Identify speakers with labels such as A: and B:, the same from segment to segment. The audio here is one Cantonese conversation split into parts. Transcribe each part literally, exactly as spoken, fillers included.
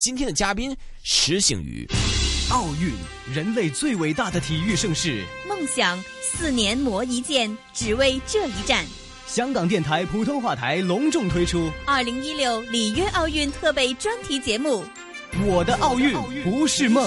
A: 今天的嘉宾石醒宇。
B: 奥运，人类最伟大的体育盛事。
C: 梦想，四年磨一剑，只为这一战。
B: 香港电台普通话台隆重推出
C: 二零一六里约奥运特备专题节目
B: 《我的奥运不是梦》。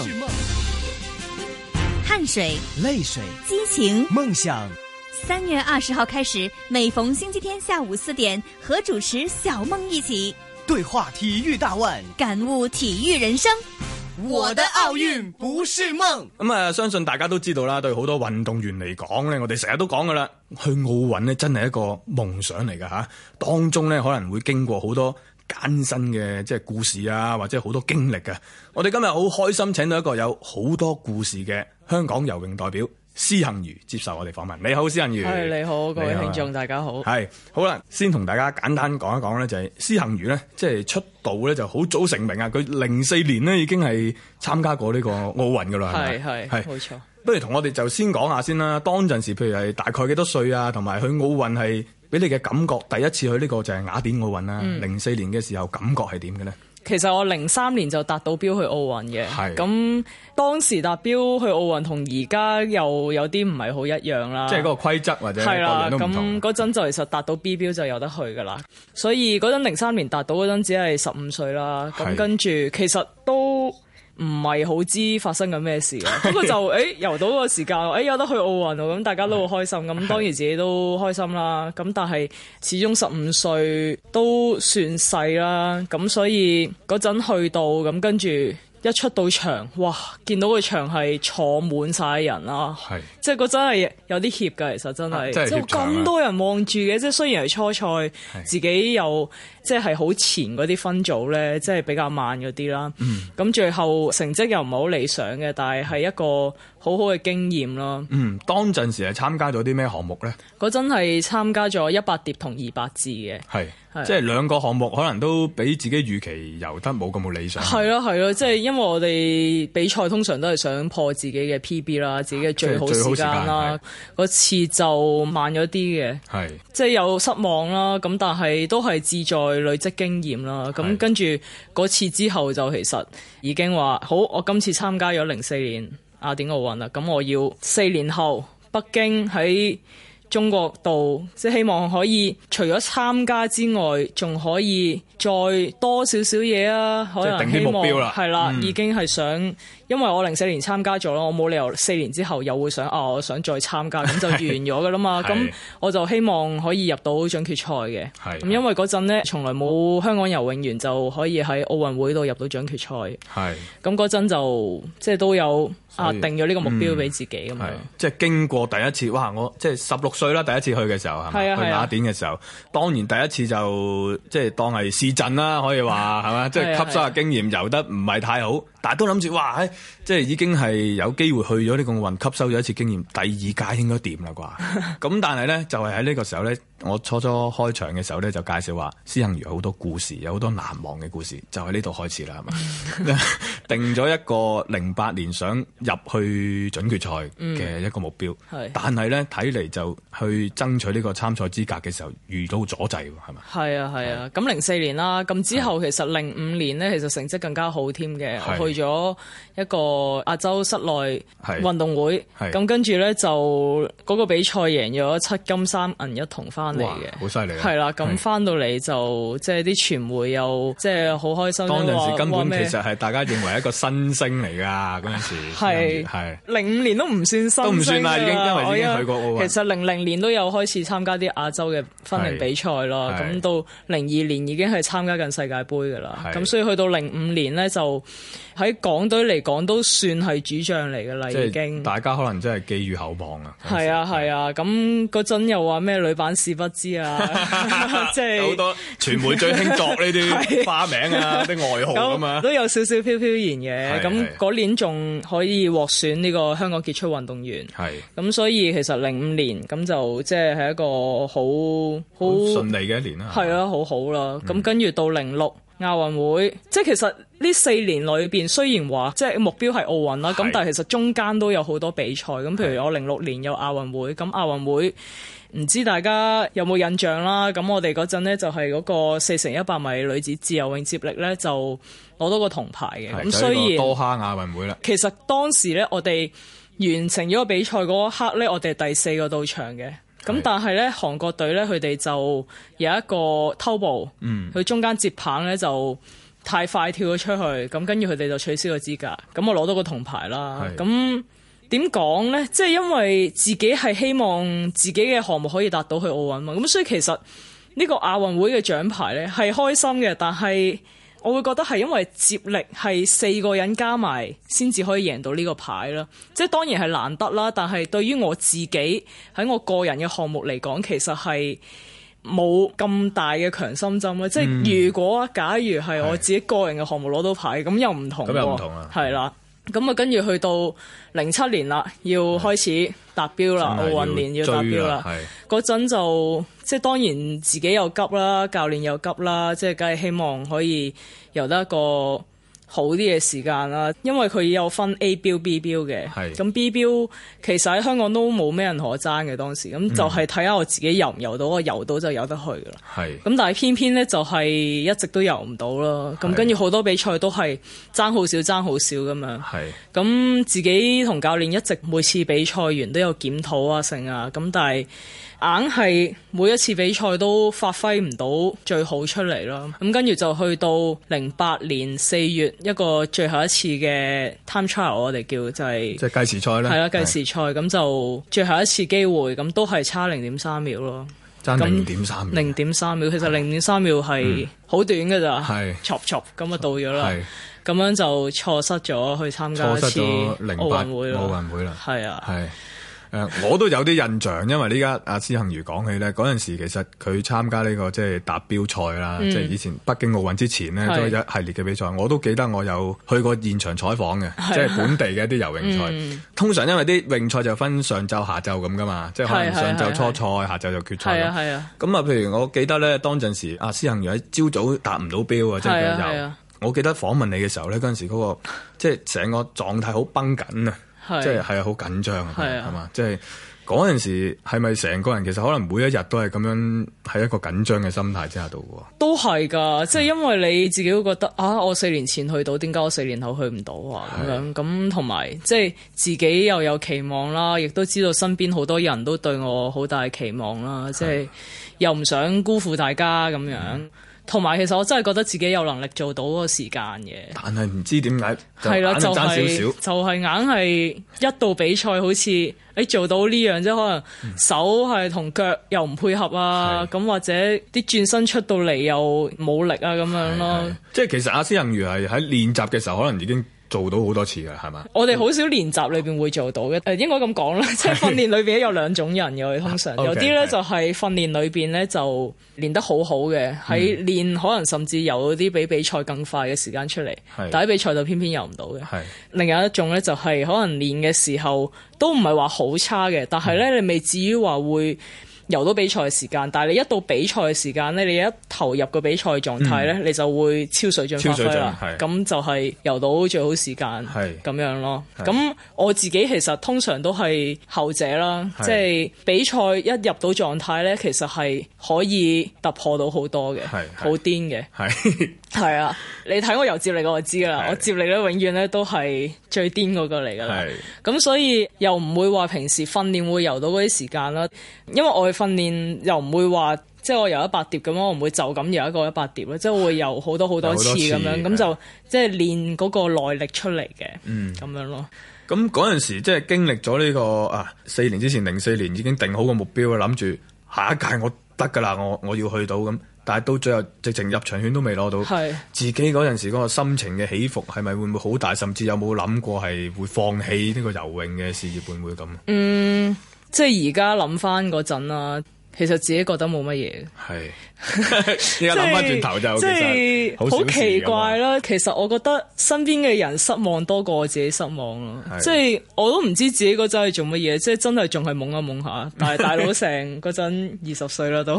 C: 汗水、
B: 泪水、
C: 激情、
B: 梦想。
C: 三月二十号开始，每逢星期天下午四点，和主持小梦一起
B: 对话体育大腕，
C: 感悟體育人生。
B: 我的奧運不是夢。
D: 咁啊，相信大家都知道啦，對好多運動員嚟講咧，我哋成日都講噶啦，去奧運咧真係一個夢想嚟噶吓，當中咧可能會經過好多艱辛嘅即係故事啊，或者好多經歷嘅。我哋今日好開心請到一個有好多故事嘅香港游泳代表施幸余接受我哋訪問。你好，施幸余。
E: 係，你好，各位聽眾大家好。
D: 係好啦，先同大家簡單講一講咧，就係施幸余咧，即係出道咧就好早成名啊！佢零四年咧已經係參加過呢個奧運噶啦，係
E: 係係冇錯。
D: 不如同我哋就先講下先啦。當陣時譬如係大概幾多歲啊？同埋去奧運係俾你嘅感覺，第一次去呢個就係雅典奧運啦。零四、嗯、年嘅時候感覺係點嘅咧？
E: 其實我零三年就達到標去奧運嘅，咁當時達標去奧運同而家又有啲唔係好一樣啦。即係嗰個規則或者各樣都唔同。咁嗰陣就其實達到 B 標就有得去噶啦，所以嗰陣零三年達到嗰陣只係十五歲啦。咁跟住其實都唔係好知發生緊咩事嘅，不過就誒、欸、游到個時間，誒、欸、有得去奧運喎，咁大家都好開心，咁當然自己都開心啦。咁但係始終十五歲都算細啦，咁所以嗰陣去到咁跟住一出到場，哇！見到個場係坐滿晒人啦，即係嗰真係有啲怯㗎，其實真係，即係咁多人望住嘅，即係雖然係初賽，自己又即係好前嗰啲分組咧，即係比較慢嗰啲啦。咁、嗯、最後成績又唔係好理想嘅，但係係一個好好嘅經驗咯。嗯，
D: 當陣時係參加咗啲咩項目咧？
E: 嗰陣係參加咗一百蝶同二百自嘅，係
D: 即係兩個項目可能都比自己預期游得冇咁冇理想。
E: 係咯係咯，即係因為我哋比賽通常都係想破自己嘅 P B 啦，自己嘅最好時間啦。嗰次就慢咗啲嘅，係即係有失望啦。咁但係都係志在累積經驗啦。咁跟住嗰次之後就其實已經話好，我今次參加咗零四年雅典奧運啦。咁我要四年後北京喺中國度，即係希望可以除咗參加之外，仲可以再多少少嘢啊！可能希望係啦，已經係想，因為我零四年參加咗咯，我冇理由四年之後又會想啊，我想再參加，咁就完咗噶啦嘛。咁我就希望可以入到準決賽嘅。咁因為嗰陣咧，從來冇香港游泳員就可以喺奧運會度入到準決賽。係咁嗰陣就即係都有啊定咗呢個目標俾自己咁樣。
D: 即係經過第一次，哇！我即係十六歲啦，第一次去嘅時候係咪？去雅典嘅時候，當然第一次就即係當係試陣啦，可以話係嘛？即係吸收下經驗，游得唔係太好。但係都諗住，哇！即係已經係有機會去咗呢個奧運，吸收咗一次經驗，第二屆應該掂啦啩？咁但係咧，就係喺呢個時候咧，我初初開場嘅時候咧，就介紹話施幸余好多故事，有好多難忘嘅故事，就喺呢度開始啦，係嘛？定咗一個零八年想入去準決賽嘅一個目標，嗯、但係咧睇嚟就去爭取呢個參賽資格嘅時候遇到阻滯，係咪？
E: 係啊係啊，咁零四年啦，咁之後其實零五年咧，其實成績更加好添嘅，我去咗一個亞洲室內運動會，咁跟住咧就嗰個比賽贏咗七金三銀一銅翻嚟嘅，
D: 好犀利！
E: 係啦，咁翻到嚟就即係啲傳媒又即係好開心。
D: 當陣時根本其實係大家認為一個新星嚟㗎，嗰陣時
E: 係係零五年都唔算新星，都唔算啦，已經因為已經去過奧運。其實零零年都有開始參加啲亞洲嘅分齡比賽咯，咁到零二年已經係參加緊世界盃㗎啦，咁所以去到零五年咧就喺港隊嚟講都算係主將嚟㗎啦，已經。
D: 大家可能真係寄予厚望啊！
E: 係啊係啊，咁嗰陣又話咩女版試不知啊，即係
D: 好多傳媒最興作呢啲花名啊、啲外號啊嘛，
E: 都有少少飄飄然嘅。咁嗰年仲可以獲選呢個香港傑出運動員，係咁，所以其實零五年咁就即係係一個好好順
D: 利嘅一年啦。
E: 係啊，好好啦。咁跟住到零六。 亞運會，即係其實呢四年裏邊雖然話即係目標係奧運啦，咁但係其實中間都有好多比賽，咁譬如我零六年有亞運會，咁亞運會唔知大家有冇印象啦？咁我哋嗰陣呢，就係嗰個四乘一百米女子自由泳接力呢，就攞到個銅牌嘅。咁雖然
D: 多哈亞運會啦，
E: 其實當時呢，我哋完成咗個比賽嗰一刻呢，我哋係第四個到場嘅。咁但係咧，韓國隊咧，佢哋就有一個偷步，佢、嗯、中間接棒咧就太快跳咗出去，咁跟住佢哋就取消個資格，咁我攞到個銅牌啦。咁點講咧？即係因為自己係希望自己嘅項目可以達到去奧運嘛，咁所以其實呢個亞運會嘅獎牌咧係開心嘅，但係我會覺得係因為接力係四個人加埋先至可以贏到呢個牌啦，即係當然係難得啦。但係對於我自己喺我個人嘅項目嚟講，其實係冇咁大嘅強心針啦。嗯、即係如果假如係我自己個人嘅項目攞到牌，咁又唔同。咁又唔同啊！係啦，咁啊跟住去到零七年啦，要開始達標啦，奧運年要達標啦。嗰陣就即係當然自己又急啦，教練又急啦，即係梗係希望可以游得一個好啲嘅時間啦。因為佢有分 A 標 B 標嘅，咁 B 標其實喺香港都冇咩人可爭嘅當時，咁就係睇下我自己游唔游到，我游到就游得去噶啦。咁但係偏偏咧就係一直都游唔到啦。咁跟住好多比賽都係爭好少爭好少咁樣。咁自己同教練一直每次比賽完都有檢討啊成啊，咁但係硬係每一次比賽都發揮唔到最好出嚟咯。咁跟住就去到零八年四月一個最後一次嘅 time trial， 我哋叫就係
D: 即係計時賽啦。係啦，
E: 計時賽咁就最後一次機會，咁都係差零點三秒咯。
D: 爭零點三秒。零點
E: 三秒，其實零點三秒係好短㗎咋。係，撮撮咁啊到咗啦。咁樣就錯失咗去參加一次奧運會啦。
D: 奧運會啦。
E: 係啊。係。
D: 誒，我都有啲印象，因為呢家阿施幸余講起咧，嗰陣時其實佢參加呢、這個即係達標賽啦，嗯、即係以前北京奧運之前呢，都有一系列嘅比賽，我都記得我有去過現場採訪嘅，即係本地嘅一啲游泳賽。嗯、通常因為啲泳賽就分上晝下晝咁噶嘛，即係可能上晝初賽，下晝就決賽。係啊，咁啊，譬如我記得咧，當陣時阿施幸余喺朝早達唔到標啊，即係佢游。我記得訪問你嘅時候咧，嗰陣時嗰、那個即係成個狀態好繃緊啊。即係係啊，好緊張啊，係嘛？即係嗰陣時係咪成個人其實可能每一日都係咁樣喺一個緊張嘅心態之下度嘅？都係㗎，即係因為你自己都覺得啊，我四年前去到，點解我四年後去唔到啊？咁樣咁同埋即係自己又有期望啦，亦都知道身邊好多人都對我好大期望啦，即係又唔想辜負大家咁樣。嗯同埋其實我真係覺得自己有能力做到嗰個時間嘅，但係唔知點解係啦，就係、是、就係硬係一到比賽好似誒、欸、做到呢樣，即係可能手係同腳又唔配合啊，咁、嗯、或者啲轉身出到嚟又冇力啊咁樣咯。即係其實阿施幸余係喺練習嘅時候可能已經做到好多次㗎，係嘛？我哋好少練習裏邊會做到嘅，誒應該咁講啦，即係訓練裏邊有兩種人嘅，通常有啲咧就係訓練裏邊咧就練得好好嘅，喺練可能甚至游啲比比賽更快嘅時間出嚟，但喺比賽就偏偏游唔到嘅。另外一種咧就係可能練嘅時候都唔係話好差嘅，但係咧你未至於話會游到比賽嘅時間，但係你一到比賽嘅時間咧，你一投入個比賽狀態咧，嗯、你就會超水準發揮啦。咁就係游到最好時間，咁樣咯。咁我自己其實通常都係後者啦，即係比賽一入到狀態咧，其實係可以突破到好多嘅，好癲嘅。係啊，你睇我游接力我就知噶啦，我接力咧永遠咧都係最癲嗰個嚟噶啦。咁所以又唔會話平時訓練會游到嗰啲時間啦，因為我嘅訓練又唔會話即係我游一百碟咁樣，我唔會就咁游一個一百碟咯，即係會游好多好多次咁樣，咁就即係練嗰個耐力出嚟嘅，嗯，咁樣咯。咁嗰陣時即係經歷咗呢個啊四年之前零四年已經定好個目標啦，諗住下一屆我得噶啦，我我要去到咁。但係到最後直情入場券都未攞到，是自己嗰陣時嗰個心情嘅起伏係咪會唔會好大？甚至有冇諗過係會放棄呢個游泳嘅事業？會唔會咁？嗯，即係而家諗翻嗰陣啦，
E: 其實自己覺得冇乜嘢。
D: 係，依家諗翻轉頭就即係
E: 好奇怪啦。其實我覺得身邊嘅人失望多過我自己失望咯。即係我都唔知自己嗰陣係做乜嘢，即係真係仲係懵一懵下。但係大佬成嗰陣二十歲啦都，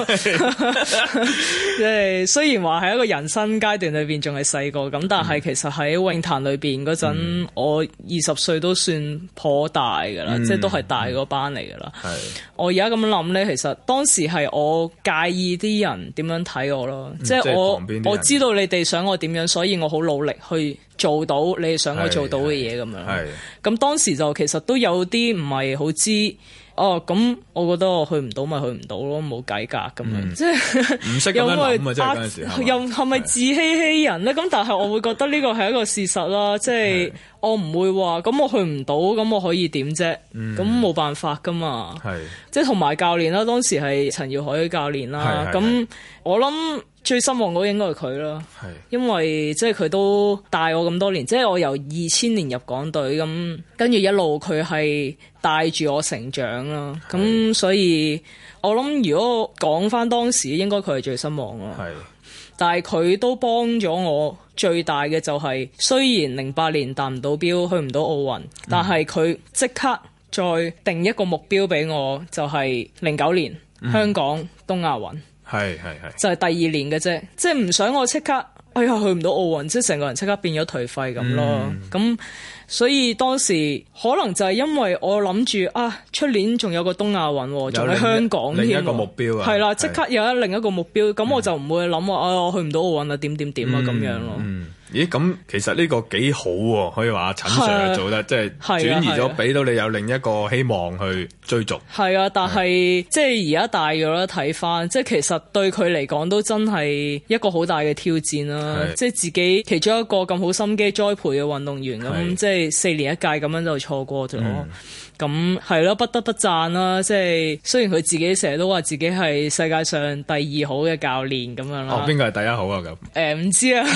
E: 即係雖然話係一個人生階段裏邊仲係細個咁，但係其實喺泳壇裏邊嗰陣，嗯、我二十歲都算頗大噶啦，嗯、即係都係大嗰班嚟噶啦。嗯、我而家咁樣諗咧，其實當時係我介意啲人點樣睇我咯，嗯、即係我我知道你哋想我點樣，所以我好努力去做到你哋想我做到嘅嘢咁樣。咁當時就其實都有啲唔係好知。哦，咁我覺得我去唔到咪去唔到咯，冇計格咁樣，即係
D: 唔識咁樣諗啊！即係嗰陣時，
E: 又係咪自欺欺人咧？咁但係我會覺得呢個係一個事實啦，即係我唔會話咁我去唔到，咁我可以點啫？咁冇辦法噶嘛。係，即係同埋教練啦，當時係陳耀海教練啦，咁我諗最失望嗰應該係佢啦，因為即係佢都帶我咁多年，即係我由二千年入港隊咁，跟住一路佢係帶住我成長啦，咁是所以我諗如果講翻當時，應該佢係最失望咯。係是，但係佢都幫咗我最大嘅就係、是，雖然零八年達唔到標，去唔到奧運，但係佢即刻再定一個目標俾我，就係零九年、嗯、香港東亞運。係係係，就係第二年嘅啫，即係唔想我即刻，哎呀去唔到奧運，即係成個人即刻變咗頹廢咁咯。咁、嗯、所以當時可能就係因為我諗住啊，出年仲有個東亞運，仲喺香港添，
D: 另一個目標啊，
E: 係啦，即刻有一另一個目標，咁、嗯、我就唔會諗話啊，我去唔到奧運啊，點點點啊咁樣咯。嗯咦，咁其實呢個幾好喎，可以話陳 Sir 做得即係轉移咗，俾到你有另一個希望去追逐。係啊，但係即係而家大咗啦，睇翻即係其實對佢嚟講都真係一個好大嘅挑戰啦。即係自己其中一個咁好心機栽培嘅運動員咁，即係四年一屆咁樣就錯過咗。咁係咯，不得不讚啦！即係雖然佢自己成日都話自己係世界上第二好嘅教練咁樣啦。哦，邊個係第一好啊？咁誒唔知啊。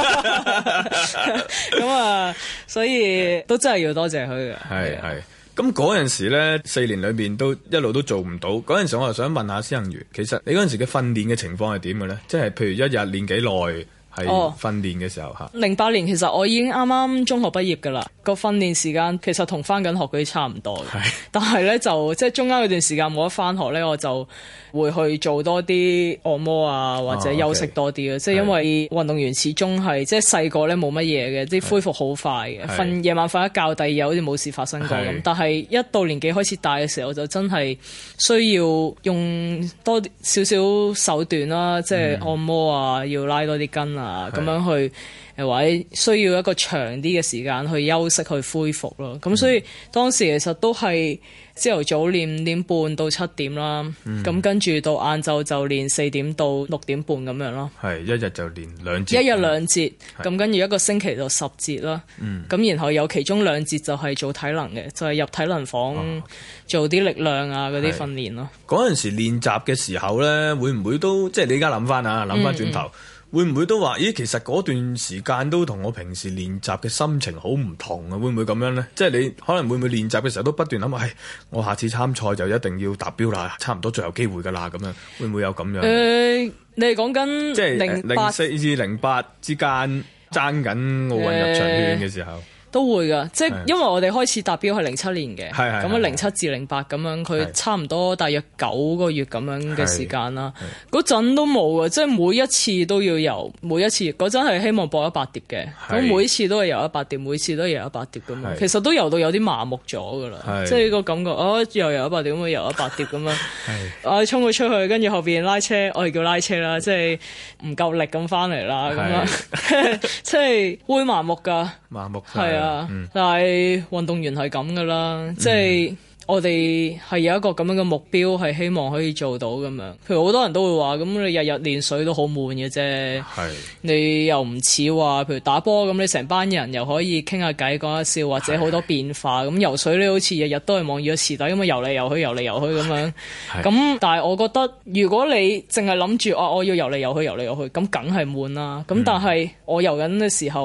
E: 咁啊，所以都真係要多謝佢嘅。係係。咁嗰陣時咧，四年裏邊都一路都做唔到。嗰陣時我又想問下施幸余，其實你嗰陣時嘅訓練嘅情況係點嘅咧？即係譬如一日練幾耐？係訓練嘅時候嚇，零八、哦、年其實我已經啱啱中學畢業㗎啦，個訓練時間其實同返緊學嗰啲差唔多嘅，是但係咧就即係中間嗰段時間冇得返學咧，我就會去做多啲按摩啊，或者休息多啲啊。即係、哦 okay、因為運動員始終係即係細個咧冇乜嘢嘅，啲恢復好快嘅，瞓夜晚瞓一覺，第二日好似冇事發生過咁。是但係一到年紀開始大嘅時候，就真係需要用多少少手段啦，即係按摩啊，嗯、要拉多啲筋啊。啊，咁樣去誒，或者需要一個長啲嘅時間去休息去恢復咯。咁、嗯、所以當時其實都係朝頭早練五點半到七點啦，咁、嗯、跟住到晏晝就練四點到六點半咁樣咯。係一日就練兩節，一日兩節，咁是跟住一個星期就十節啦。咁、嗯、然後有其中兩節就係做體能嘅，就係、是、入體能房做啲力量啊嗰啲訓練咯。嗰陣時練習嘅時候咧，會唔會都即係你而家諗翻啊？諗翻轉頭。嗯嗯會唔會都話？咦，其實嗰段時間都同我平時練習嘅心情好唔同啊！會唔會咁樣咧？即係你可能會唔會練習嘅時候都不斷諗話，係我下次參賽就一定要達標啦，差唔多最後機會㗎啦，咁樣會唔會有咁樣？誒、呃，你係講緊即係零四至零八之間爭緊奧運入場券嘅時候。呃都會㗎，即係因為我哋開始達標係零七年嘅，咁啊零七至零八咁樣，佢差唔多大約九個月咁樣嘅時間啦。嗰陣都冇㗎，即係每一次都要游，每一次嗰陣係希望博一百蝶嘅，咁是每次都係游一百蝶，每次都係游一百蝶咁樣。是其實都游到有啲麻木咗㗎啦，是即係個感覺，哦又游一百蝶咁，游一百蝶咁樣，我衝佢出去，跟住後邊拉車，我哋叫拉車啦，即係唔夠力咁翻嚟啦，咁樣即係會麻木㗎，麻木係啊。嗯、但係運動員係咁噶啦，即係、嗯、我哋係有一個咁樣嘅目標，係希望可以做到咁樣。譬如好多人都會話，咁你日日練水都好悶嘅啫。係是你又唔似話，譬如打波咁，你成班人又可以傾下偈、講下笑，或者好多變化。咁是游水你好似日日都係望住個池底咁樣游嚟游去、游嚟游去咁樣。咁是但係我覺得，如果你淨係諗住啊，我要游嚟游去、游嚟游去，咁梗係悶啦。咁、嗯、但係我游緊嘅時候。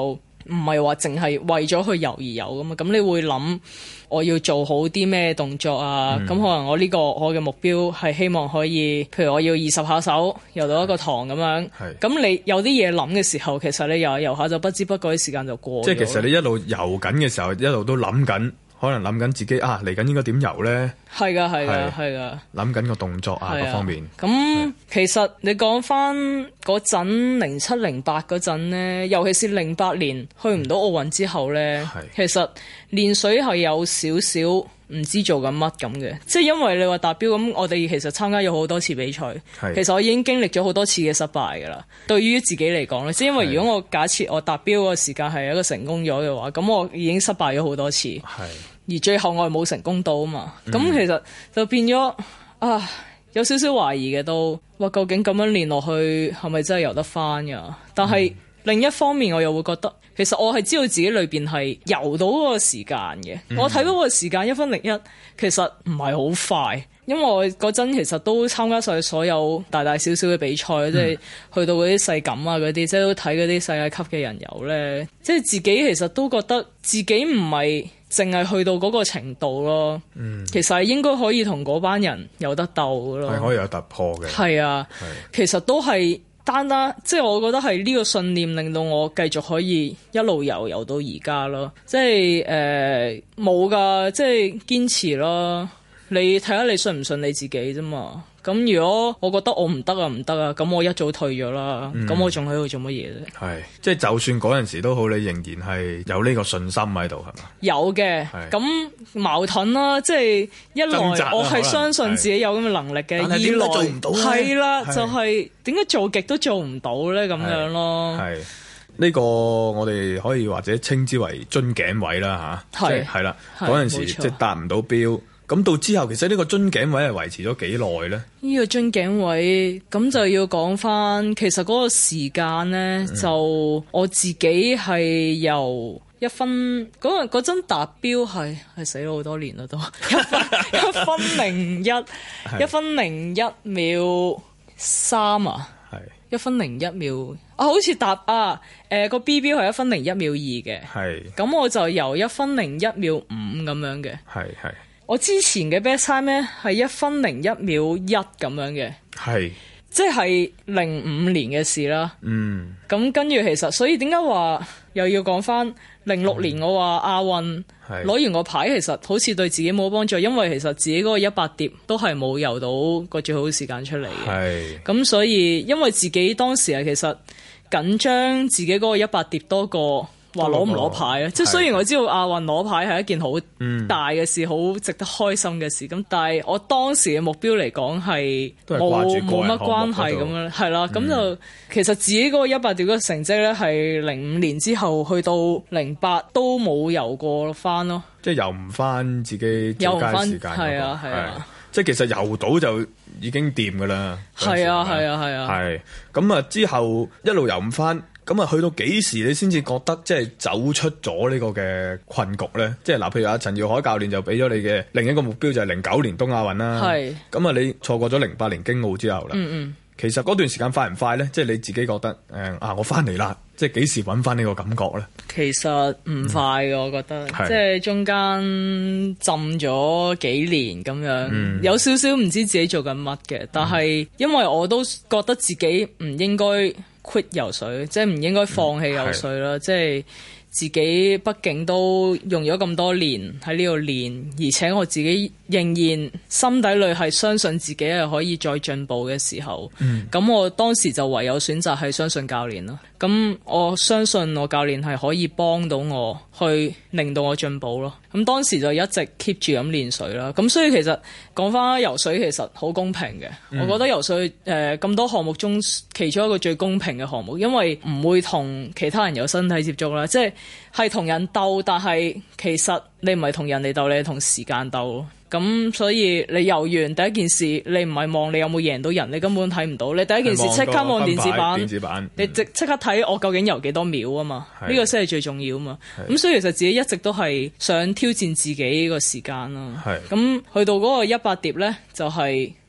E: 唔係話淨係為咗去游而游噶嘛，咁你會諗我要做好啲咩動作啊？咁、嗯、可能我呢個我嘅目標係希望可以，譬如我要二十下手游到一個塘咁樣。咁你有啲嘢諗嘅時候，其實你游游下就不知不覺啲時間就過咗。即係其實你一路游緊嘅時候，一路都諗緊。可能諗緊自己啊，嚟緊應該點游咧？係噶，係噶，係噶。諗緊個動作啊，各方面。咁其實你講翻嗰陣零七零八嗰陣咧，尤其是零八年去唔到奧運之後咧，其實練水係有少少唔知做緊乜咁嘅。即係因為你話達標咁，我哋其實參加咗好多次比賽，其實我已經經歷咗好多次嘅失敗噶啦。對於自己嚟講咧，即係因為如果我假設我達標個時間係一個成功咗嘅話，咁我已經失敗咗好多次。而最後我係冇成功到啊嘛，咁、嗯、其實就變咗啊，有少少懷疑嘅都話究竟咁樣練落去係咪真係游得翻噶？但係、嗯、另一方面我又會覺得，其實我係知道自己裏邊係游到嗰個時間嘅。嗯、我睇到個時間一分零一，其實唔係好快，因為我嗰陣其實都參加晒所有大大小小嘅比賽，即係、嗯、去到嗰啲世錦啊嗰啲，即係都睇嗰啲世界級嘅人游咧，即係自己其實都覺得自己唔係淨係去到嗰個程度咯，嗯、其實係應該可以同嗰班人有得鬥咯，係可以有突破嘅。係啊，係其實都係單單，即係我覺得係呢個信念令到我繼續可以一路游游到而家咯。即係誒冇㗎，即係堅持咯。你睇下你信唔信你自己啫嘛。咁如果我覺得我唔得啊唔得啊，咁我一早退咗啦。咁、嗯、我仲喺度做乜嘢啫？係，即係就算嗰陣時都好，你仍然係有呢個信心喺度，係嘛？有嘅。咁矛盾啦，即係一來我係相信自己有咁嘅能力嘅，二來做唔到係啦，就係點解做極都做唔到咧？咁樣咯。係呢個我哋可以或者稱之為樽頸位啦吓，係係啦，嗰陣時即係達唔到標。咁到之後，其實呢個樽頸位係維持咗幾耐咧？呢個樽頸位咁就要講翻，其實嗰個時間咧，嗯、就我自己係由一分嗰嗰陣達標係係死咗好多年啦，都一分一分零一一分零一秒三啊，係一分零一秒啊，好似達啊誒個、呃、B 標係一分零一秒二嘅，係咁我就由一分零一秒五咁樣嘅，係係。我之前嘅 best time 咧係一分零一秒一咁樣嘅，係即係零五年嘅事啦。嗯，咁跟住其實，所以點解話又要講翻零六年我話亞運攞完個牌，其實好似對自己冇幫助，因為其實自己嗰個一百蝶都係冇游到個最好嘅時間出嚟嘅。係咁，所以因為自己當時係其實緊張自己嗰個一百蝶多過話攞唔攞牌咧，即係雖然我知道亞運攞牌係一件好大嘅事，好、嗯、值得開心嘅事，咁但係我當時嘅目標嚟講係冇冇乜關係咁樣，係啦，咁、嗯、就其實自己嗰個一百蝶嘅成績咧，係零五年之後去到零八都冇游過翻咯，即係游唔翻自己最佳時間，係啊係啊，即係其實游到就已經掂噶啦，係啊係啊係啊，係咁啊之後一路游唔翻。咁啊，去到幾時你先至覺得即係走出咗呢個嘅困局咧？即係嗱，譬如阿陳耀海教練就俾咗你嘅另一個目標就係零九年東亞運啦。係。咁啊，你錯過咗零八年京奧之後啦。嗯嗯。其實嗰段時間快唔快咧？即係你自己覺得誒、嗯、啊，我翻嚟啦！即係幾時揾翻呢個感覺咧？其實唔快嘅，嗯、我覺得，即係中間浸咗幾年咁樣，嗯、有少少唔知自己做緊乜嘅。但係因為我都覺得自己唔應該 quit 游水，即係唔應該放棄游水啦。即係、嗯、自己畢竟都用咗咁多年喺呢度練，而且我自己仍然心底裏係相信自己係可以再進步嘅時候，咁、嗯、我當時就唯有選擇係相信教練啦。咁我相信我教練係可以幫到我去令到我進步咯。咁當時就一直 keep 住咁練水啦。咁所以其實講翻游水其實好公平嘅。嗯、我覺得游水誒咁、呃、多項目中其中一個最公平嘅項目，因為唔會同其他人有身體接觸啦，即係係同人鬥，但係其實你唔係同人哋鬥，你係同時間鬥咯。咁所以你游完第一件事，你唔係望你有冇贏到人，你根本睇唔到。你第一件事即刻望電子版，電子版你即即刻睇我究竟游幾多秒啊嘛？呢個先係最重要啊嘛。咁所以其實自己一直都係想挑戰自己個時間咯。咁去到嗰個一百蝶咧，就係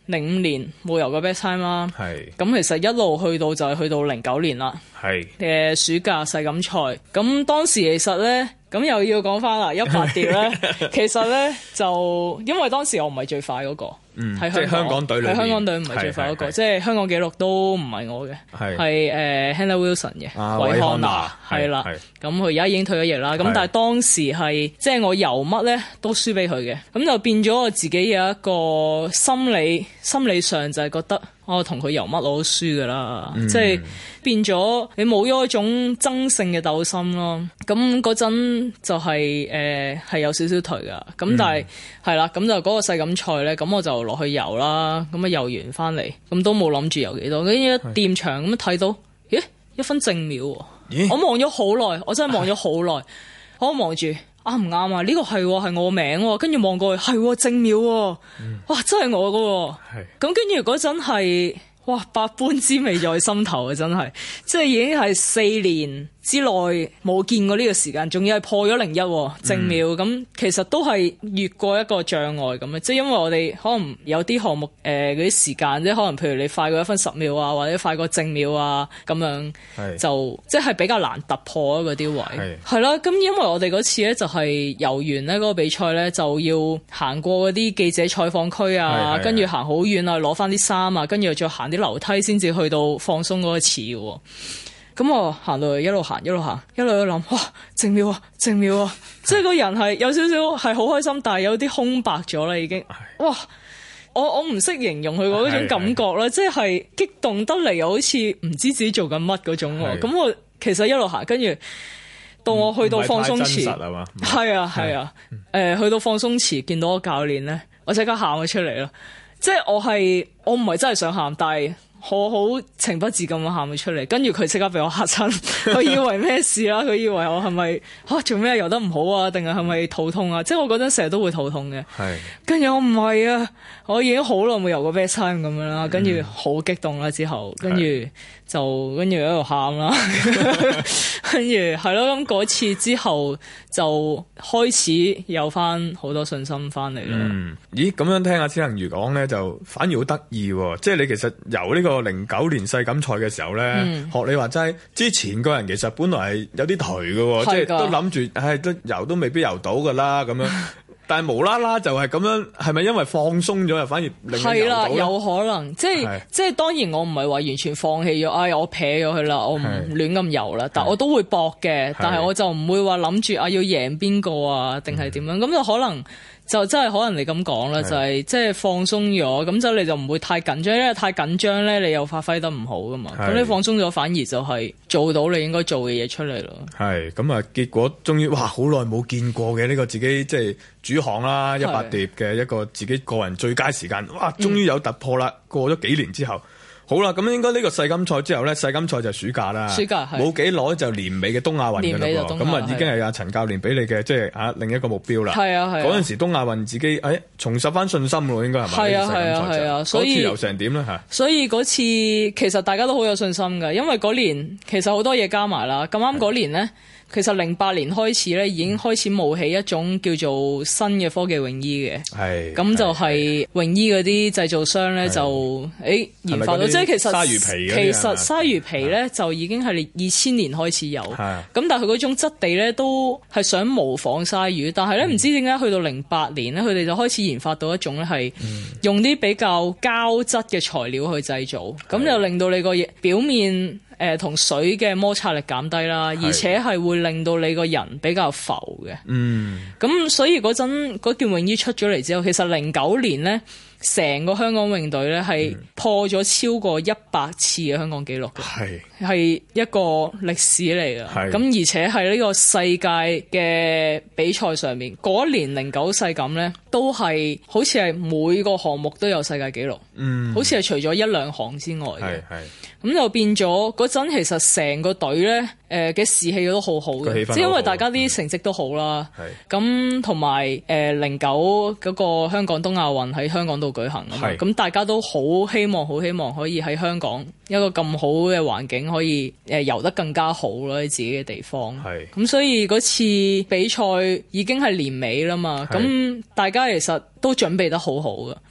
E: 零五年冇游過 best time 啦。
D: 係。
E: 咁其實一路去到就係去到零九年啦。
D: 係。
E: 嘅暑假世錦賽，咁當時其實咧，咁又要講翻啦，一百蝶咧，其實咧就因為當時我唔係最快嗰、嗰個。
D: 嗯，即係香港隊裏面，
E: 喺香港隊唔係最快嗰、嗰個，即係香港紀錄都唔係我嘅，係誒 Hannah Wilson 嘅，韋漢娜係啦，咁佢而家已經退咗役啦，咁但係當時係即係我游乜咧都輸俾佢嘅，咁就變咗我自己有一個心理心理上就係覺得我同佢游乜我都輸㗎啦，即係變咗你冇咗一種爭勝嘅鬥心咯，咁嗰陣就係誒係有少少頹㗎，咁但係係啦，咁就嗰個世錦賽咧，咁我就落去游啦，咁啊游完翻嚟，咁都冇諗住游幾多，跟住一掂場咁睇到，咦一分正秒喎，我望咗好耐，我真係望咗好耐，我望住啱唔啱啊？呢個係係我名喎，跟住望過去係正秒喎，哇真係我㗎喎，咁跟住嗰陣係哇百般滋味在心頭啊！真係，即係已經係四年之內冇見過呢個時間，仲要係破咗零一正秒，咁、嗯、其實都係越過一個障礙咁嘅，即係因為我哋可能有啲項目誒嗰啲時間，即係可能譬如你快過一分十秒啊，或者快過正秒啊咁樣，就即係比較難突破嗰啲位係啦。咁因為我哋嗰次咧就係游完咧嗰個比賽咧，就要行過嗰啲記者採訪區啊，跟住行好遠啊，攞翻啲衫啊，跟住又再行啲樓梯先至去到放鬆嗰個池嘅。咁我行到去一路行一路行一路去諗，哇正秒啊正秒啊！即係個人係有少少係好開心，但係有啲空白咗啦已經。哇！我我唔識形容佢嗰種感覺啦，即係激動得嚟又好似唔知自己做緊乜嗰種。咁我其實一路行，跟住到我去到放鬆池，係啊係啊，誒去到放鬆池見到個教練咧，我即刻喊咗出嚟啦！即係我係我唔係真係想喊，但係我好情不自禁咁喊咗出嚟，跟住佢即刻俾我嚇親，佢以為咩事啦？佢以為我係咪嚇做咩游得唔好啊？定係係咪肚痛啊？即係我嗰陣成日都會肚痛嘅。係，跟住我唔係啊，我已經好耐冇游過 best time 咁樣啦，跟住好激動啦，之後跟住就跟住喺度喊啦，跟住係咯，咁嗰次之後就開始有翻好多信心翻嚟啦。
D: 嗯，咦，咁樣聽阿千行如講咧，就反而好得意喎！即係你其實游呢個零九年世錦賽嘅時候咧，嗯、學你話齋，之前個人其實本來係有啲頹嘅，即係都諗住，唉，都游都未必游到噶啦咁樣。但係無啦啦就係咁樣，係咪因為放鬆咗又反而令佢游到咧？係啦，
E: 有可能，即係即係當然我唔係話完全放棄咗，唉，我撇咗佢啦，我唔亂咁游啦，但我都會搏嘅，但係我就唔會話諗住啊要贏邊個啊，定係點樣，咁、嗯、就可能。就真係可能你咁講啦，就係即係放鬆咗，咁就你就唔會太緊張，因為太緊張咧，你又發揮得唔好噶嘛。咁你放鬆咗，反而就係做到你應該做嘅嘢出嚟咯。係
D: 咁啊，結果終於哇，好耐冇見過嘅呢個自己即係主項啦，一百蝶嘅一個自己個人最佳時間，哇，終於有突破啦！嗯、過咗幾年之後。好啦，咁應該呢個世錦賽之後咧，世錦賽就暑假啦，暑假冇幾耐就年尾嘅東亞運㗎啦喎，咁啊已經係阿陳教練俾你嘅即係啊另一個目標啦。係啊係。嗰陣時東亞運自己誒、哎、重拾翻信心咯，應該係咪？係啊係啊係啊，所以嗰次游成點咧嚇？所以嗰次其實大家都好有信心㗎，因為嗰年其實好多嘢加埋啦，咁啱嗰年咧。其實零八年開始咧，已經開始冒起一種叫做新嘅科技泳衣嘅，係咁就係泳衣嗰啲製造商咧就誒、欸、研發到，即係其實鯊魚皮其實鯊魚皮咧就已經係二千年開始有，咁但係佢嗰種質地咧都係想模仿鯊魚，但係咧唔知點解去到零八年咧，佢哋就開始研發到一種咧係用啲比較膠質嘅材料去製造，咁就令到你個表面。誒同、呃、水嘅摩擦力減低啦，而且係會令到你個人比較浮嘅。嗯，咁所以嗰陣嗰件泳衣出咗嚟之後，其實零九年咧，成個香港泳隊咧係破咗超過一百次嘅香港紀錄嘅，係係一個歷史嚟嘅。咁而且係呢個世界嘅比賽上面，嗰一年零九世錦咧，都係好似係每個項目都有世界紀錄。嗯，好似係除咗一兩項之外嘅。係係。咁就變咗嗰陣，其實成個隊咧，誒、呃、嘅士氣都好好嘅，即係因為大家啲成績都好啦。係咁同埋誒零九嗰個香港東亞運喺香港度舉行啊嘛，咁大家都好希望，好希望可以喺香港一個咁好嘅環境，可以誒游得更加好咯，喺自己嘅地方。係咁，所以嗰次比賽已經係年尾啦嘛，咁大家其實都準備得好好嘅。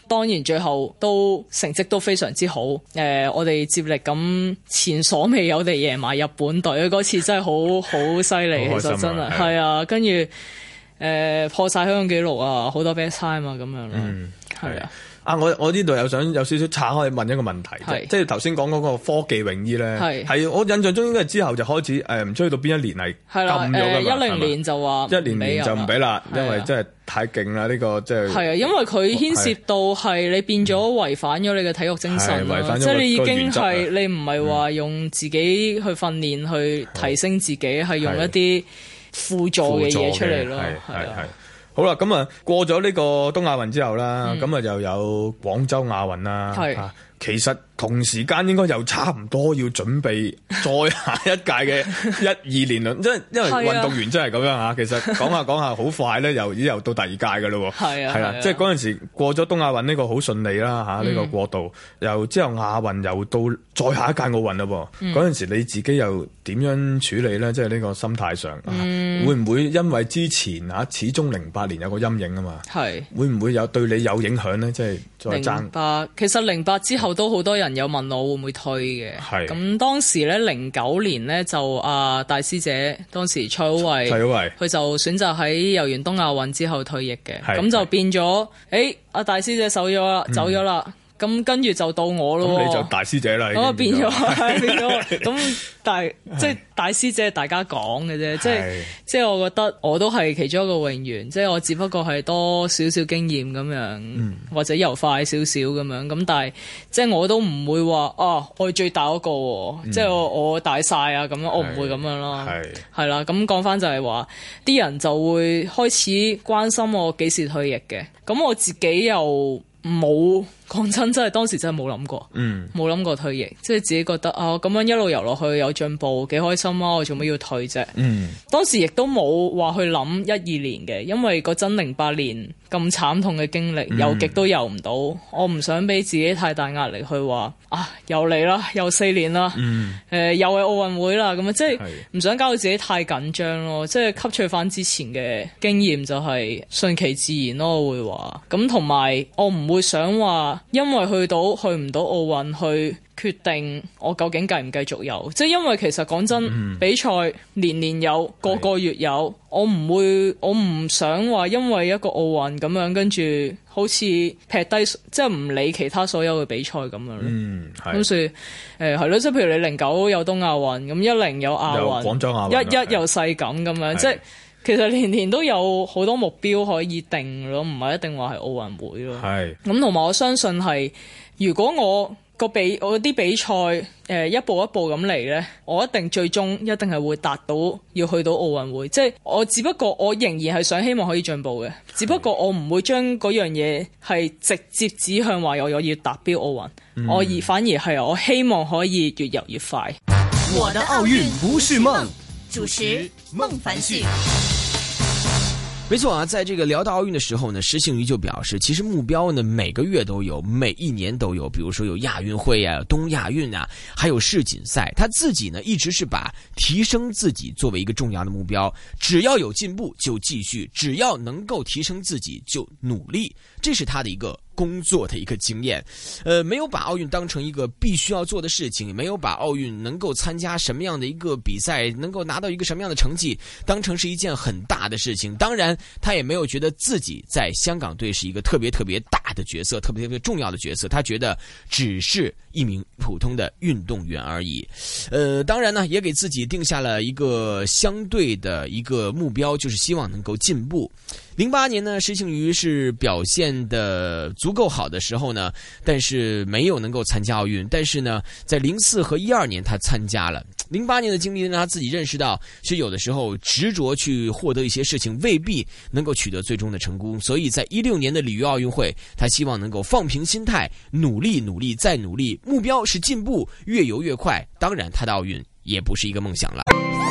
E: 當然最後都成績都非常之好。誒、呃，我哋接力咁前所未有地贏埋日本隊，嗰次真係好好犀利，其實真係係啊，跟住誒破晒香港紀錄啊，好多 best time 啊咁樣咯，係、嗯、啊。
D: 啊！我我呢度又想有少少岔開問一個問題，即係頭先講嗰個科技泳衣咧，係我印象中應該係之後就開始誒唔知去到邊一年係禁咗㗎嘛？
E: 一零年就話
D: 一零年就唔俾啦，因為真係太勁啦呢個即係。係啊，
E: 因為佢牽涉到係你變咗違反咗你嘅體育精神，違反咗即係你已經係你唔係話用自己去訓練去提升自己，係用一啲輔助嘅嘢出嚟咯，係係。
D: 好啦，咁啊過咗呢個東亞運之後啦，咁啊又有廣州亞運啦。係，其實同時間應該又差唔多要準備再下一屆嘅一二年啦。即係因為運動員真係咁樣嚇，其實講下講下好快咧，又已經又到第二屆㗎咯喎。係啊，係啦，即係嗰陣時過咗東亞運呢個好順利啦嚇，呢個過渡又之後亞運又到再下一屆奧運啦喎。嗰陣時你自己又點樣處理咧？即係呢個心態上，會唔會因為之前嚇始終零八年有個陰影啊嘛？係會唔會有對你有影響咧？即係再爭
E: 零八，其實零八之後都好多人有問我會唔會退嘅。係咁當時咧，零九年咧就啊大師姐當時蔡好慧，蔡好慧佢就選擇喺游完東亞運之後退役嘅。咁就變咗，誒阿大師姐走咗啦，走咗啦。咁跟住就到我咯，
D: 咁你就大師姐啦。
E: 咁啊變咗，變咗咁，但係即係大師姐大家講嘅啫，即係即係我覺得我都係其中一個泳員，即係我只不過係多少少經驗咁樣，嗯、或者游快少少咁樣，咁但係即係我都唔會話啊，我係最大嗰個，嗯、即係我我大晒啊咁樣，我唔會咁樣咯。係係啦，咁講翻就係話，啲人就會開始關心我幾時退役嘅，咁我自己又冇。講真，真係當時真係冇諗過，冇諗、嗯、過退役，即係自己覺得啊，咁樣一路游落去有進步，幾開心啊！我做乜要退啫？嗯、當時亦都冇話去諗一二年嘅，因為嗰陣零八年咁慘痛嘅經歷，游極都游唔到，我唔想俾自己太大壓力去話啊，又嚟啦，又四年啦，誒、嗯呃，又係奧運會啦，咁啊，即係唔想搞到自己太緊張咯，即係吸取翻之前嘅經驗，就係順其自然咯，我會話咁，同埋我唔會想話。因為去到去唔到奧運，去決定我究竟繼唔繼續游，即係因為其實講真，嗯、比賽年年有，個個月有，是我唔會，我唔想話因為一個奧運咁樣，跟住好似劈低，即係唔理其他所有嘅比賽咁樣咯。嗯，係。咁所以誒係咯，即係譬如你零九有東亞運，咁一零有亞運，廣州亞運，一一有世錦咁樣，即係。其實年年都有好多目標可以定咯，唔係一定話係奧運會咯。係咁，同埋我相信係，如果我個比我啲比賽誒、呃、一步一步咁嚟咧，我一定最終一定係會達到要去到奧運會。即係我只不過我仍然係想希望可以進步嘅，只不過我唔會將嗰樣嘢係直接指向話我要達標奧運，嗯、我而反而係我希望可以越游越快。
B: 我的奧運不是夢，
C: 主持孟凡旭。
A: 沒錯啊，在這個聊到奧運的時候呢，施幸余就表示，其實目標呢每個月都有，每一年都有，比如說有亞運會啊、東亞運啊，還有世錦賽。他自己呢一直是把提升自己作為一個重要的目標，只要有進步就繼續，只要能夠提升自己就努力，這是他的一個工作的一個經驗。呃，沒有把奧運當成一個必須要做的事情，沒有把奧運能夠參加什麼樣的一個比賽，能夠拿到一個什麼樣的成績當成是一件很大的事情。當然他也沒有覺得自己在香港隊是一個特別特別大的角色，特別特別重要的角色，他覺得只是一名普通的運動員而已。呃，當然呢也給自己定下了一個相對的一個目標，就是希望能夠進步。零八年呢，施幸余是表現的足夠好的時候呢，但是沒有能夠參加奧運。但是呢，在零四和一二年他參加了。零八年的經歷讓他自己認識到，其實有的時候執着去獲得一些事情，未必能夠取得最終的成功。所以在一六年的里約奧運會，他希望能夠放平心態，努力努力再努力，目標是進步，越游越快。當然他的奧運也不是一個夢想了。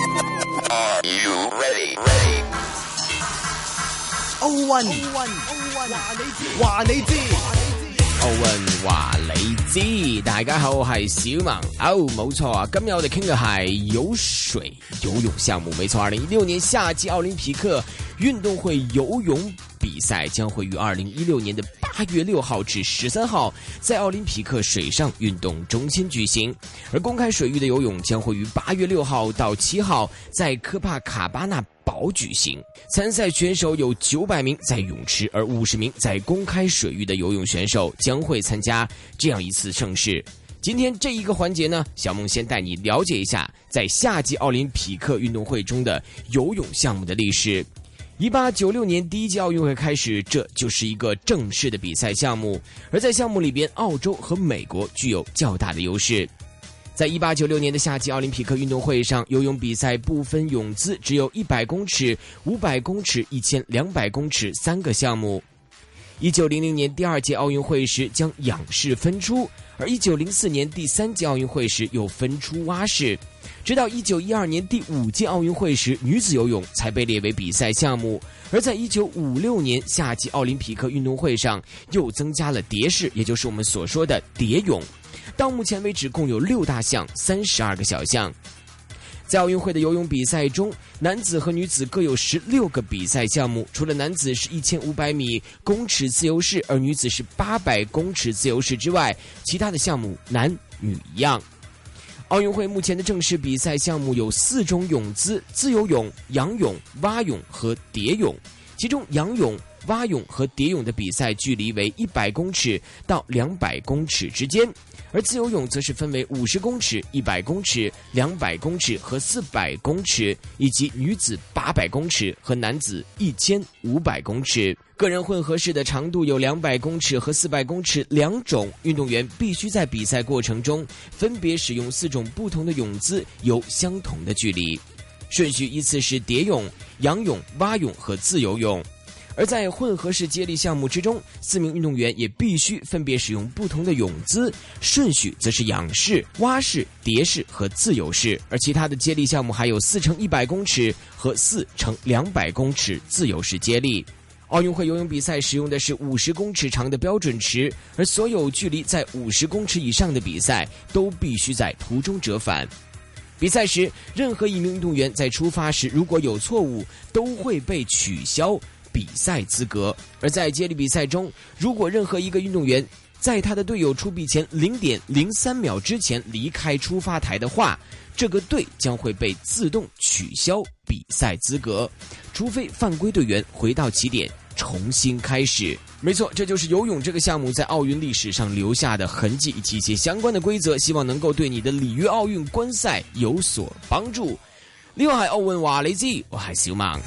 B: 奧運，奧運，奧運，話你知，
A: 奧運話你知。大家好，我係小萌。哦，冇錯啊，今日我哋傾嘅係游水游泳項目，沒錯。二零一六年夏季奧林匹克運動會游泳比赛将会于二零一六年的八月六号至十三号在奥林匹克水上运动中心举行，而公开水域的游泳将会于八月六号到七号在科帕卡巴纳堡举行。参赛选手有九百名在泳池，而五十名在公开水域的游泳选手将会参加这样一次盛事。今天这一个环节呢，小梦先带你了解一下在夏季奥林匹克运动会中的游泳项目的历史。一八九六年第一届奥运会开始，这就是一个正式的比赛项目，而在项目里边，澳洲和美国具有较大的优势。在一八九六年的夏季奥林匹克运动会上，游泳比赛不分泳姿，只有一百公尺、五百公尺、一千两百公尺三个项目。一九零零年第二届奥运会时将仰式分出，而一九零四年第三届奥运会时又分出蛙式。直到一九一二年第五届奥运会时，女子游泳才被列为比赛项目。而在一九五六年夏季奥林匹克运动会上，又增加了蝶式，也就是我们所说的蝶泳。到目前为止，共有六大项，三十二个小项。在奥运会的游泳比赛中，男子和女子各有十六个比赛项目，除了男子是一千五百米公尺自由式，而女子是八百公尺自由式之外，其他的项目男女一样。奥运会目前的正式比赛项目有四种泳姿：自由泳、仰泳、蛙泳和蝶泳。其中仰泳、蛙泳和蝶泳的比赛距离为一百公尺到两百公尺之间，而自由泳则是分为五十公尺、一百公尺、两百公尺和四百公尺，以及女子八百公尺和男子一千五百公尺。个人混合式的长度有两百公尺和四百公尺两种，运动员必须在比赛过程中分别使用四种不同的泳姿，游相同的距离。顺序依次是蝶泳、仰泳、蛙泳和自由泳。而在混合式接力项目之中，四名运动员也必须分别使用不同的泳姿，顺序则是仰式、蛙式、蝶式和自由式。而其他的接力项目还有四乘一百公尺和四乘两百公尺自由式接力。奥运会游泳比赛使用的是五十公尺长的标准池，而所有距离在五十公尺以上的比赛都必须在途中折返。比赛时，任何一名运动员在出发时如果有错误，都会被取消比赛资格。而在接力比赛中，如果任何一个运动员在他的队友出臂前零点零三秒之前离开出发台的话，这个队将会被自动取消比赛资格，除非犯规队员回到起点重新开始。没错，这就是游泳这个项目在奥运历史上留下的痕迹以及一些相关的规则，希望能夠對你的里約奧運觀賽有所幫助。呢個係奧運話你知，我係小孟。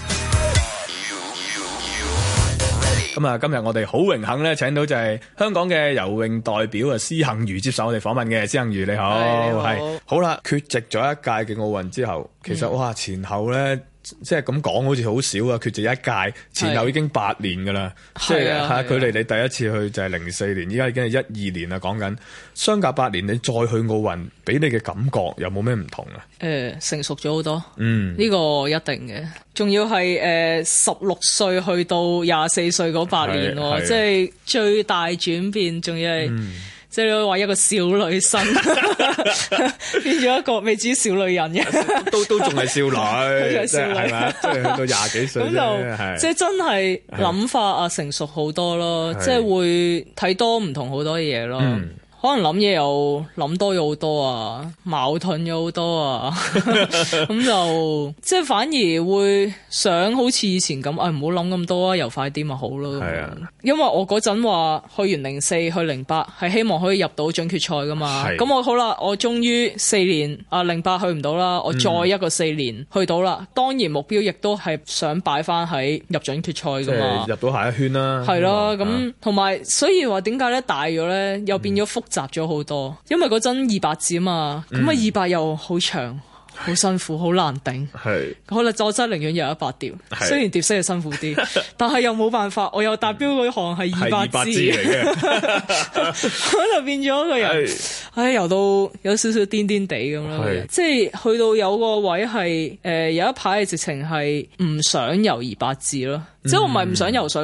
D: 咁啊，今日我哋好榮幸咧，請到就係香港嘅游泳代表啊，施幸余接受我哋訪問嘅。施幸余你好，係好啦，缺席咗一屆嘅奧運之後，其實、嗯、哇前後咧。即係咁講好似好少啊，缺席一屆，前後已經八年噶啦，即係嚇距離你第一次去就係零四年，依家已經係一二年啦。講緊相隔八年，你再去奧運，俾你嘅感覺有冇咩唔同啊？
E: 誒、呃，成熟咗好多，
D: 嗯，
E: 呢、這個一定嘅。仲要係誒十六歲去到廿四歲嗰八年喎，即係最大轉變，仲要係。嗯即係你話一個少女生變咗一個未至於少女人嘅，
D: 都都仲係少女，即係係咪？即係去到廿幾歲咁就
E: 即係真係諗法啊成熟好多咯，即係會睇多唔同好多嘢咯。嗯可能諗嘢又諗多咗好多啊，矛盾咗好多啊，咁就即係反而會想好似以前咁，誒唔好諗咁多啊，游快啲咪好咯。係啊，因為我嗰陣話去完零四去零八係希望可以入到準決賽噶嘛，咁我好啦，我終於四年啊零八去唔到啦，我再一個四年去到啦、嗯，當然目標亦都係想擺翻喺入準決賽噶嘛，
D: 入到下一圈啦。係咯，
E: 咁同埋所以話點解咧大咗咧又變咗複雜咗好多，因為嗰陣二百字啊嘛，咁啊二百又好長，好辛苦，好難頂。係，好啦，我真係寧願游一百條，雖然蝶式係辛苦啲，但係又冇辦法，我又達標嗰項係二百字嚟嘅，咁就變咗個人，唉，游到有少少癲癲地咁啦，即係去到有個位係誒、呃、有一排係直情係唔想游二百字咯。即係我唔係唔想游水，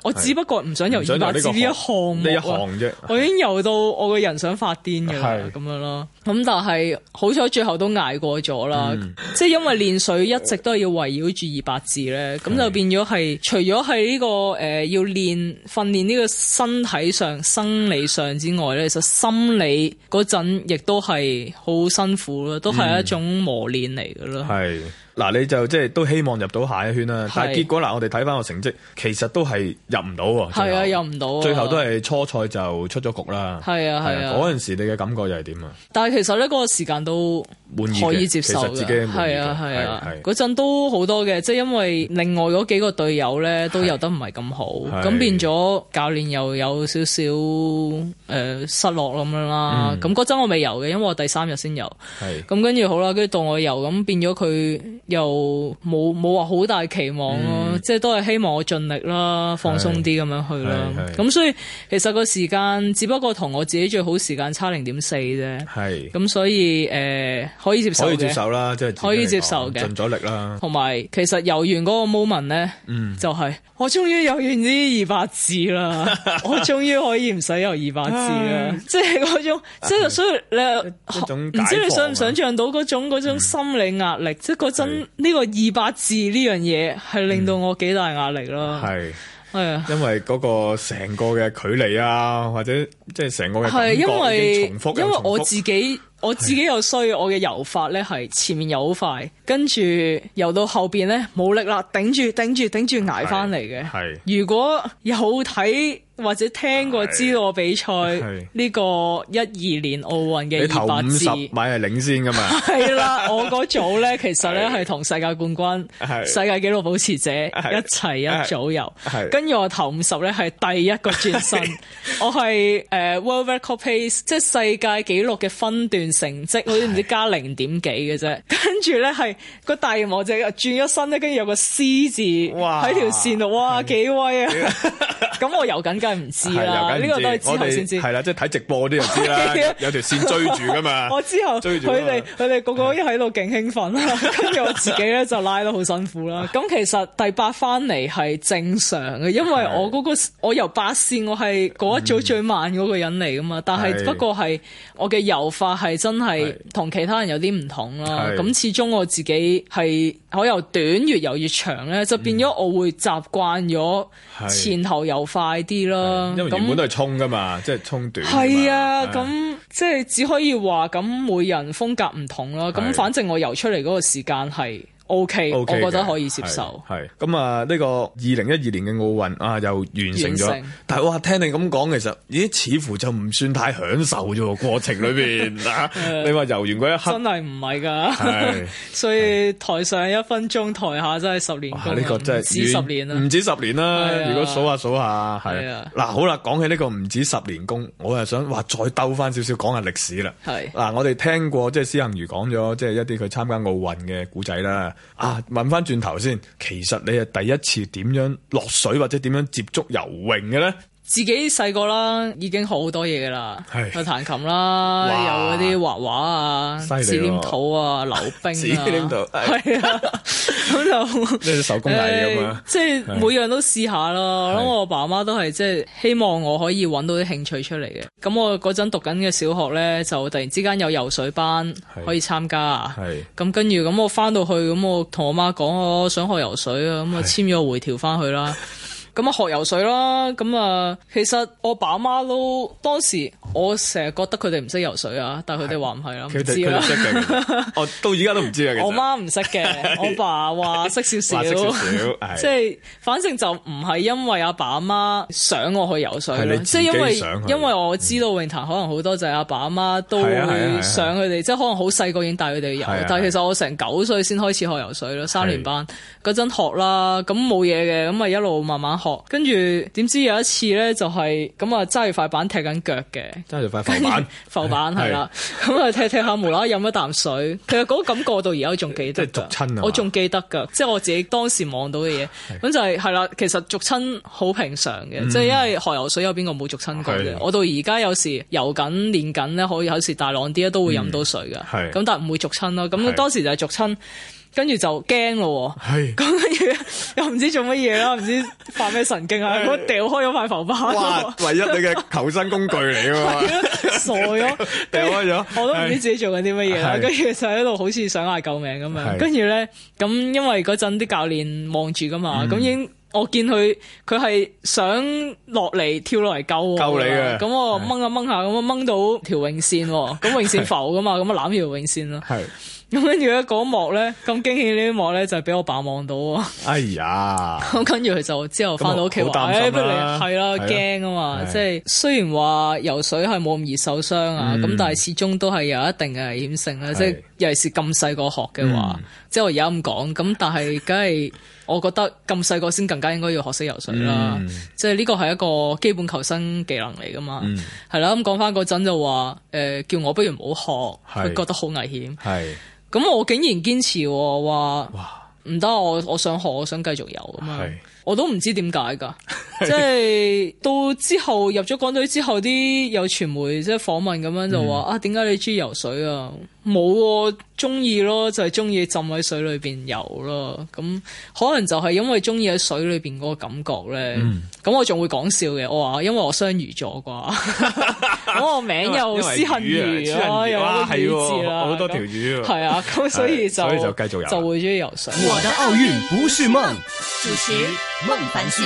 E: 我只不過唔想游二百字呢一項目
D: 呢一項啫，
E: 我已經游到我個人想發癲嘅啦，咁樣咯。咁但係好彩最後都捱過咗啦，嗯、即係因為練水一直都係要圍繞住二百字咧，咁就變咗係除咗係呢個誒、呃、要練訓練呢個身體上生理上之外咧，其實心理嗰陣亦都係好辛苦咯，都係一種磨練嚟嘅咯。係、
D: 嗯。嗱，你就即係都希望入到下一圈啦，但係結果嗱，我哋睇翻個成績，其實都係入唔到喎。
E: 係啊，入唔到啊！
D: 最後都係初賽就出咗局啦。
E: 係啊，係啊。
D: 嗰陣時你嘅感覺又係點啊？
E: 但係其實咧，嗰個時間都可以接受嘅。
D: 其實自己
E: 係啊，係啊。嗰陣都好多嘅，即係因為另外嗰幾個隊友咧都游得唔係咁好，咁變咗教練又有少少誒失落咁樣啦。咁嗰陣我未游嘅，因為我第三日先游。係。咁跟住好啦，跟住到我游，咁變咗佢。又冇冇話好大期望咯，嗯、即係都係希望我盡力啦，放鬆啲咁樣去啦。咁所以其實個時間只不過同我自己最好時間差零點四啫。係咁所以誒、呃、可以接受嘅，可以接受
D: 啦，即係
E: 可以接受嘅，
D: 盡咗力啦。同
E: 埋其實游完嗰個 moment 咧，嗯、就係我終於游完呢二百字啦，我終於可以唔使游二百字啦，即係嗰種，即係所以你唔知你想唔想像到嗰種嗰種心理壓力，即係嗰陣。呢個二百字呢樣嘢係令到我幾大壓力咯，係係啊，因為
D: 嗰個成個嘅距離啊，或者即係成個嘅感覺已經重複，
E: 因為我自己我自己又衰，我嘅游法咧係前面游好快，跟住游到後邊咧冇力啦，頂住頂住頂住捱翻嚟嘅。係如果有睇或者聽過知道我比賽呢個一二年奧運嘅二百字，
D: 你頭五十米係領先噶嘛？
E: 係啦，我嗰組咧其實咧係同世界冠軍、世界紀錄保持者一齊一組游，跟住我頭五十咧係第一個轉身，我係誒、uh, World Record Pace， 即係世界紀錄嘅分段成績，好似唔知加零點幾嘅啫。跟住咧係個大熒幕就轉咗身咧，跟住有個 C 字喺條線度，哇幾威啊！咁我游緊。梗係唔知啦，呢個都係之後先知。
D: 係啦，即係睇直播啲就知啦，有條線追住噶嘛。
E: 我之後追住佢哋，佢哋個個一喺度勁興奮啦，跟住我自己咧就拉得好辛苦啦。咁其實第八翻嚟係正常嘅，因為我嗰個我游八線，我係嗰一組最慢嗰個人嚟噶嘛。但係不過係我嘅游法係真係同其他人有啲唔同啦。咁始終我自己係我游短越游越長咧，就變咗我會習慣咗前後游快啲咯。
D: 因為原本都係衝噶嘛，即係衝短。
E: 係啊，咁即係只可以話咁每人風格唔同啦。咁反正我游出嚟嗰個時間係 OK， 我覺得可以接受。係咁啊，呢個二零一二年嘅奧運啊，又完成咗。但係哇，聽你咁講，其實咦，似乎就唔算太享受啫喎，過程裏邊啊。你話游完嗰一刻，真係唔係㗎。所以台上一分鐘，台下真係十年功。呢個真係唔止十年啦，唔止十年啦。如果數下數下，係啊。嗱，好啦，講起呢個唔止十年功，我係想話再兜翻少少講下歷史啦。係嗱，我哋聽過即係施幸余講咗，即係一啲佢參加奧運嘅古仔啦。啊，問翻轉頭先，其實你係第一次點樣落水或者點樣接觸游泳嘅咧？自己細個啦，已經學好多嘢噶啦，去彈琴啦，有嗰啲畫畫啊、紙黏土啊、溜冰啊，紙黏土係啊，咁就即係手工藝咁嘛，即係每樣都試下咯。咁我阿爸阿媽都係即係希望我可以揾到啲興趣出嚟嘅。咁我嗰陣讀緊嘅小學咧，就突然之間有游水班可以參加啊。咁跟住咁我翻到去，咁我同我媽講我想學游水啊，咁我簽咗個回條翻去啦。咁啊學游水啦，咁啊其實我爸媽都當時我成日覺得佢哋唔識游水啊，但係佢哋話唔係啦，唔知啦。佢哋識嘅，哦到而家都唔知啊。我媽唔識嘅，我爸話識少少，即係反正就唔係因為阿爸阿媽想我去游水咯，即係因為因為我知道泳壇可能好多就係阿爸阿媽都會想佢哋，即係可能好細個已經帶佢哋游，但係其實我成九歲先開始學游水咯，三年班嗰陣學啦，咁冇嘢嘅，咁啊一路慢慢學。跟住點知有一次咧，就係咁啊揸住塊板踢緊腳嘅，揸住塊浮板，浮板係啦，咁啊踢踢下無啦啦飲一啖水，其實嗰個感覺到而家我仲記得，即係逐親啊，我仲記得噶，即係我自己當時望到嘅嘢，咁就係係啦，其實逐親好平常嘅，即係因為學游水有邊個冇逐親過嘅，我到而家有時游緊練緊咧，可以有時大浪啲咧都會飲到水噶，咁但係唔會逐親咯，咁當時就係逐親。 跟住就驚咯，咁跟住又唔知做乜嘢啦，唔知發咩神經啊，咁掉開咗塊浮板。
D: 哇！唯一你嘅求生工具嚟㗎嘛，
E: 傻咗，掉開咗，我都唔知自己做緊啲乜嘢啦。跟住就喺度好似想嗌救命咁樣。跟住咧，咁因為嗰陣啲教練望住噶嘛，咁、嗯、已經我見佢佢係想落嚟跳落嚟救
D: 救你嘅。
E: 咁我掹下掹下，咁我掹到條泳線，咁泳線浮噶嘛，咁啊攬條泳線啦。咁跟住咧嗰幕咧咁驚喜呢一幕咧就係俾我爸望到啊！
D: 哎呀！
E: 咁跟住佢就之後翻到屋企話，誒不如係啦，驚啊嘛！即係雖然話游水係冇咁易受傷啊，咁、嗯、但係始終都係有一定嘅危險性啦。即係尤其是咁細個學嘅話，嗯、即係我而家咁講，咁但係梗係我覺得咁細個先更加應該要學識游水啦。嗯、即係呢個係一個基本求生技能嚟噶嘛。係啦、嗯，咁講翻嗰陣就話，誒、呃、叫我不如唔好學，佢覺得好危險。係。咁我竟然堅持話唔得，我我想學，我想繼續游咁嘛，我都唔知點解噶，即係到之後入咗港隊之後，啲有傳媒即係訪問咁樣就話、嗯、啊，點解你中意游水啊？冇，中意咯，就係中意浸喺水裏邊游咯。咁可能就係因為中意喺水裏邊嗰個感覺咧。咁、嗯、我仲會講笑嘅，我話因為我雙魚座啩，咁我名又思恨魚咯，有啲魚字啦，好多條魚。係啊，咁所以就所以就繼續游，就會中意游水。
B: 我的奧運不是夢，
C: 主持孟凡旭。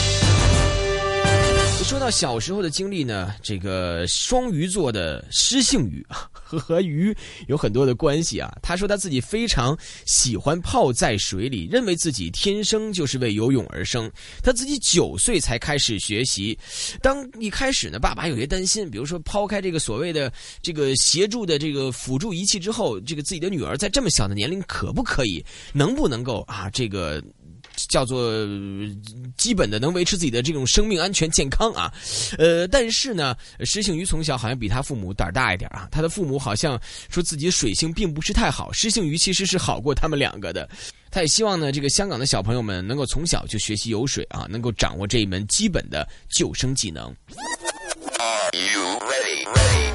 A: 說到小時候的經歷呢，這個雙魚座的施幸宇和和魚有很多的關係啊。他說他自己非常喜歡泡在水裏，認為自己天生就是為游泳而生。他自己九歲才開始學習，當一開始呢，爸爸有些擔心，比如說拋開這個所謂的這個協助的這個輔助儀器之後，這個自己的女兒在這麼小的年齡可不可以，能不能夠啊這個叫做基本的能維持自己的這種生命安全健康啊，呃，但是呢，施幸宇從小好像比他父母膽兒大一點啊，他的父母好像說自己的水性並不是太好，施幸宇其實是好過他們兩個的。他也希望呢，這個香港的小朋友們能夠從小就學習游水啊，能夠掌握這一門基本的救生技能。
B: Are you ready? Ready?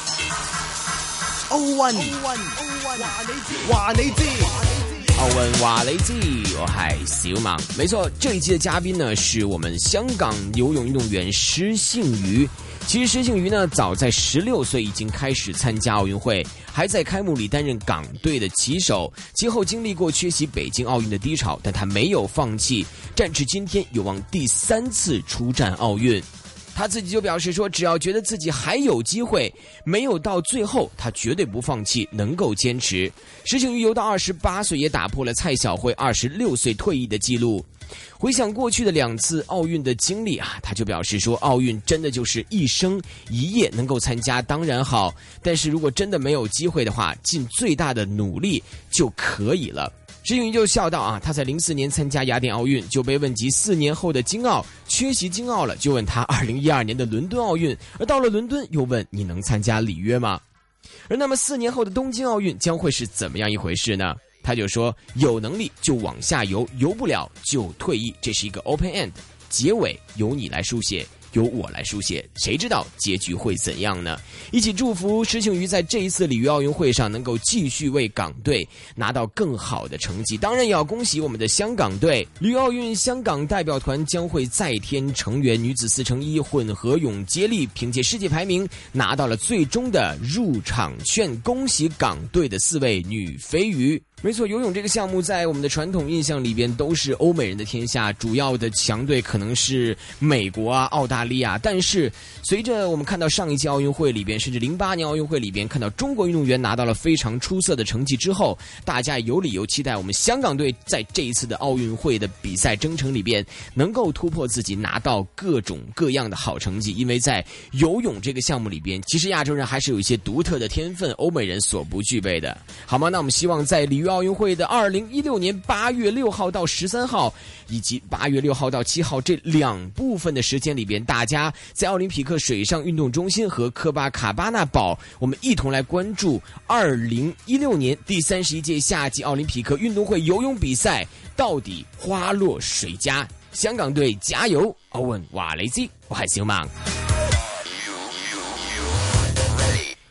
B: 奧運，奧運，奧運，話你知，話你知。
A: 奧運話你知，我係小孟。沒錯，這一期的嘉賓呢，是我們香港游泳運動員施幸宇。其實施幸宇呢，早在十六歲已經開始參加奧運會，還在開幕禮擔任港隊的旗手。其後經歷過缺席北京奧運的低潮，但他沒有放棄，戰至今天有望第三次出戰奧運。他自己就表示說，只要覺得自己還有機會，沒有到最後，他絕對不放棄，能夠堅持。施幸宇游到二十八歲，也打破了蔡曉慧二十六歲退役的記錄。回想過去的兩次奧運的經歷啊，他就表示說，奧運真的就是一生一夜，能夠參加當然好，但是如果真的沒有機會的話，盡最大的努力就可以了。施幸宇就笑道啊，他在零四年參加雅典奧運，就被問及四年後的京奧，缺席京奧了，就問他二零一二年的倫敦奧運，而到了倫敦又問你能參加里約嗎？而那麼四年後的東京奧運將會是怎麼樣一回事呢？他就說有能力就往下游，游不了就退役，這是一個 open end， 結尾由你來書寫，由我來書寫，誰知道結局會怎樣呢？一起祝福施幸宇在這一次里約奧運會上能夠繼續為港隊拿到更好的成績。當然也要恭喜我們的香港隊，里約奧運香港代表團將會再添成員，女子四乘一混合泳接力憑借世界排名拿到了最終的入場券，恭喜港隊的四位女飛魚。沒錯，游泳這個項目在我們的傳統印象裏邊都是歐美人的天下，主要的強隊可能是美國啊、澳大利亞。但是隨着我們看到上一屆奧運會裏邊，甚至零八年奧運會裏邊看到中國運動員拿到了非常出色的成績之後，大家有理由期待我們香港隊在這一次的奧運會的比賽征程裏邊能夠突破自己，拿到各種各樣的好成績。因為在游泳這個項目裏邊，其實亞洲人還是有一些獨特的天分，歐美人所不具備的。好嗎？那我們希望在里約奧運會的二零一六年八月六號到十三號，以及八月六號到七號這兩部分的時間裏邊，大家在奧林匹克水上運動中心和科巴卡巴納堡，我們一同來關注二零一六年第三十一屆夏季奧林匹克運動會游泳比賽到底花落誰家？香港隊加油！奧運話你知，我係小孟。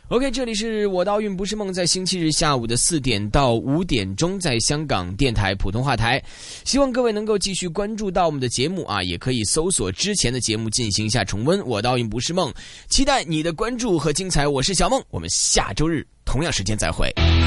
A: OK， 这里是我的奥运不是梦，在星期日下午的四点到五点钟，在香港电台普通话台。希望各位能够继续关注到我们的节目啊，也可以搜索之前的节目进行一下重温。我的奥运不是梦，期待你的关注和精彩。我是小梦，我们下周日同样时间再会。